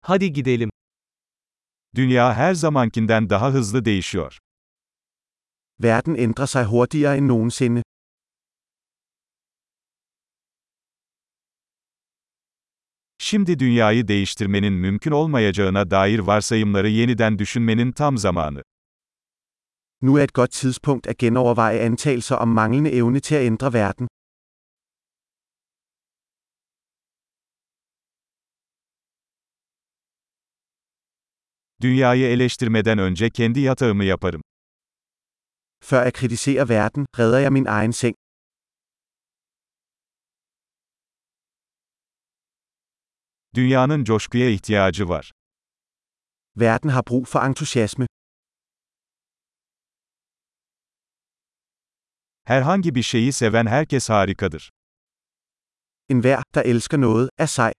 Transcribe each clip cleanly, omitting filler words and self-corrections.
Hadi gidelim. Dünya her zamankinden daha hızlı değişiyor. Verden ændrer sig hurtigere end nogensinde. Şimdi dünyayı değiştirmenin mümkün olmayacağına dair varsayımları yeniden düşünmenin tam zamanı. Nu er et godt tidspunkt at genoverveje antagelser om manglende evne til at ændre verden. Dünyayı eleştirmeden önce kendi yatağımı yaparım. Før jeg kritiserer verden, redder jeg min egen seng. Dünyanın coşkuya ihtiyacı var. Verden har brug for entusiasme. Herhangi bir şeyi seven herkes harikadır. Enhver, der elsker noget, er sej.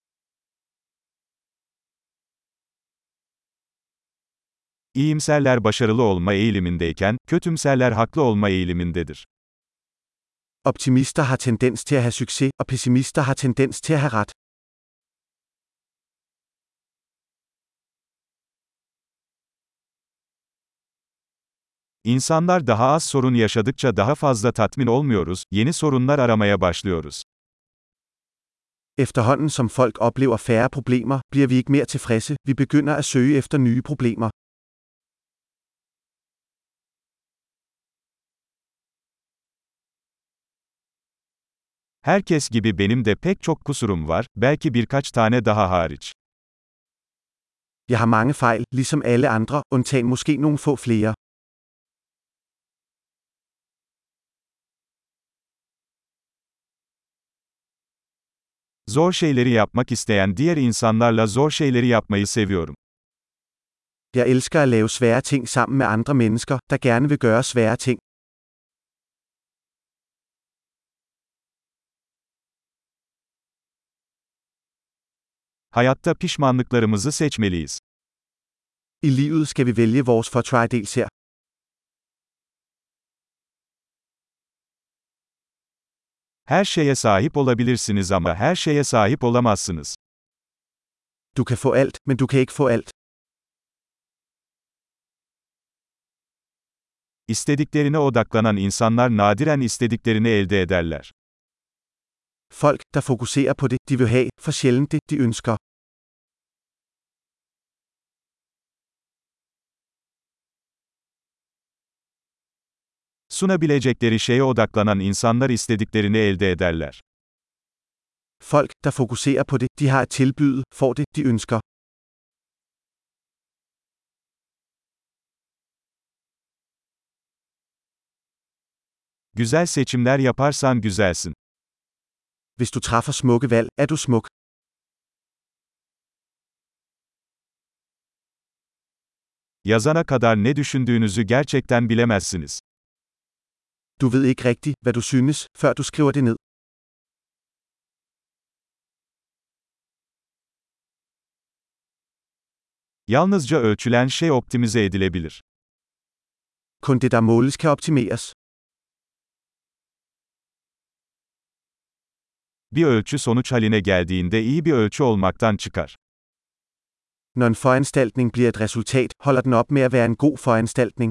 İyimserler başarılı olma eğilimindeyken, kötümserler haklı olma eğilimindedir. Optimister har tendens til at have succes, og pessimister har tendens til at have ret. İnsanlar daha az sorun yaşadıkça daha fazla tatmin olmuyoruz, yeni sorunlar aramaya başlıyoruz. Efterhånden som folk oplever færre problemer, bliver vi ikke mere tilfredse, vi begynder at søge efter nye problemer. Herkes gibi benim de pek çok kusurum var, belki birkaç tane daha hariç. Jeg har mange fejl, ligesom alle andre, undtagen måske nogle få flere. Zor şeyleri yapmak isteyen diğer insanlarla zor şeyleri yapmayı seviyorum. Jeg elsker at lave svære ting sammen med andre mennesker, der gerne vil gøre svære ting. Hayatta pişmanlıklarımızı seçmeliyiz. I livet skal vi vælge vores fortrædelser. Her şeye sahip olabilirsiniz ama her şeye sahip olamazsınız. Du kan få alt, men du kan ikke få alt. İstediklerine odaklanan insanlar nadiren istediklerini elde ederler. Folk, der fokuserer på det, de vil have, får sjældent det, de ønsker. Sunabilecekleri şeye odaklanan insanlar istediklerini elde ederler. Folk, der fokuserer på det, de har at tilbyde, får det, de ønsker. Güzel seçimler yaparsan güzelsin. Hvis du træffer smukke valg, er du smuk. Yazana kadar ne düşündüğünüzü gerçekten bilemezsiniz. Du ved ikke rigtigt, hvad du synes, før du skriver det ned. Yalnızca ölçülen şey optimize edilebilir. Kun det, der måles, kan optimeres. Bir ölçü sonuç haline geldiğinde iyi bir ölçü olmaktan çıkar. Når en foranstaltning bliver et resultat, holder den op med at være en god foranstaltning.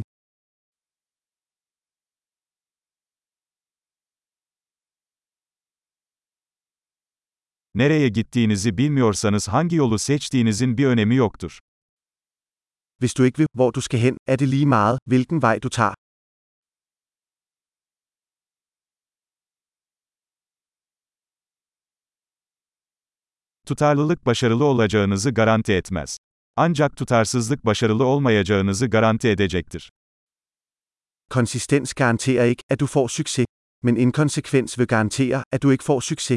Nereye gittiğinizi bilmiyorsanız hangi yolu seçtiğinizin bir önemi yoktur. Hvis du ikke ved, hvor du skal hen, er det lige meget, hvilken vej du tager. Tutarlılık başarılı olacağınızı garanti etmez. Ancak tutarsızlık başarılı olmayacağınızı garanti edecektir. Konsistens garanterer ikke, at du får succes, men inkonsekvens vil garantere, at du ikke får succes.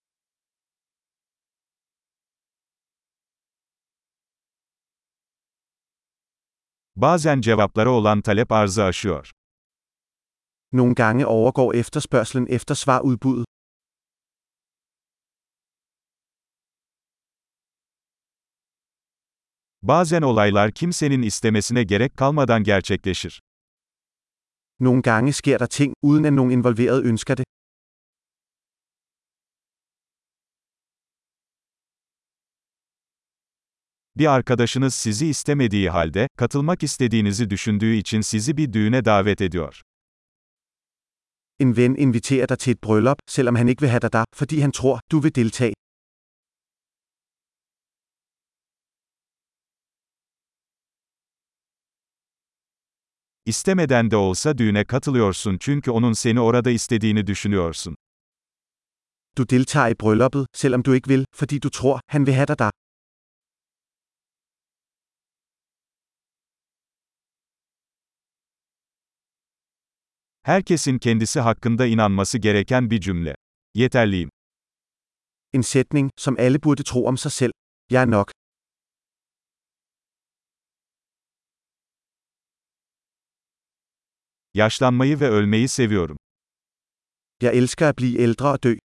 Bazen cevaplara olan talep arzı aşıyor. Nogle gange overgår efterspørgslen efter svarudbuddet. Bazen olaylar kimsenin istemesine gerek kalmadan gerçekleşir. Nogle gange sker der ting, uden at nogen involveret ønsker det. Bir arkadaşınız sizi istemediği halde, katılmak istediğinizi düşündüğü için sizi bir düğüne davet ediyor. En ven inviterer dig til et bryllup, selvom han ikke vil have dig der, fordi han tror, du vil deltage. İstemeden de olsa düğüne katılıyorsun çünkü onun seni orada istediğini düşünüyorsun. Du deltager i brylluppet, selvom du ikke vil, fordi du tror, han vil have dig der. Herkesin kendisi hakkında inanması gereken bir cümle. Yeterliyim. En sætning, som alle burde tro om sig selv. Jeg er nok. Yaşlanmayı ve ölmeyi seviyorum. Jeg elsker at blive ældre og dø.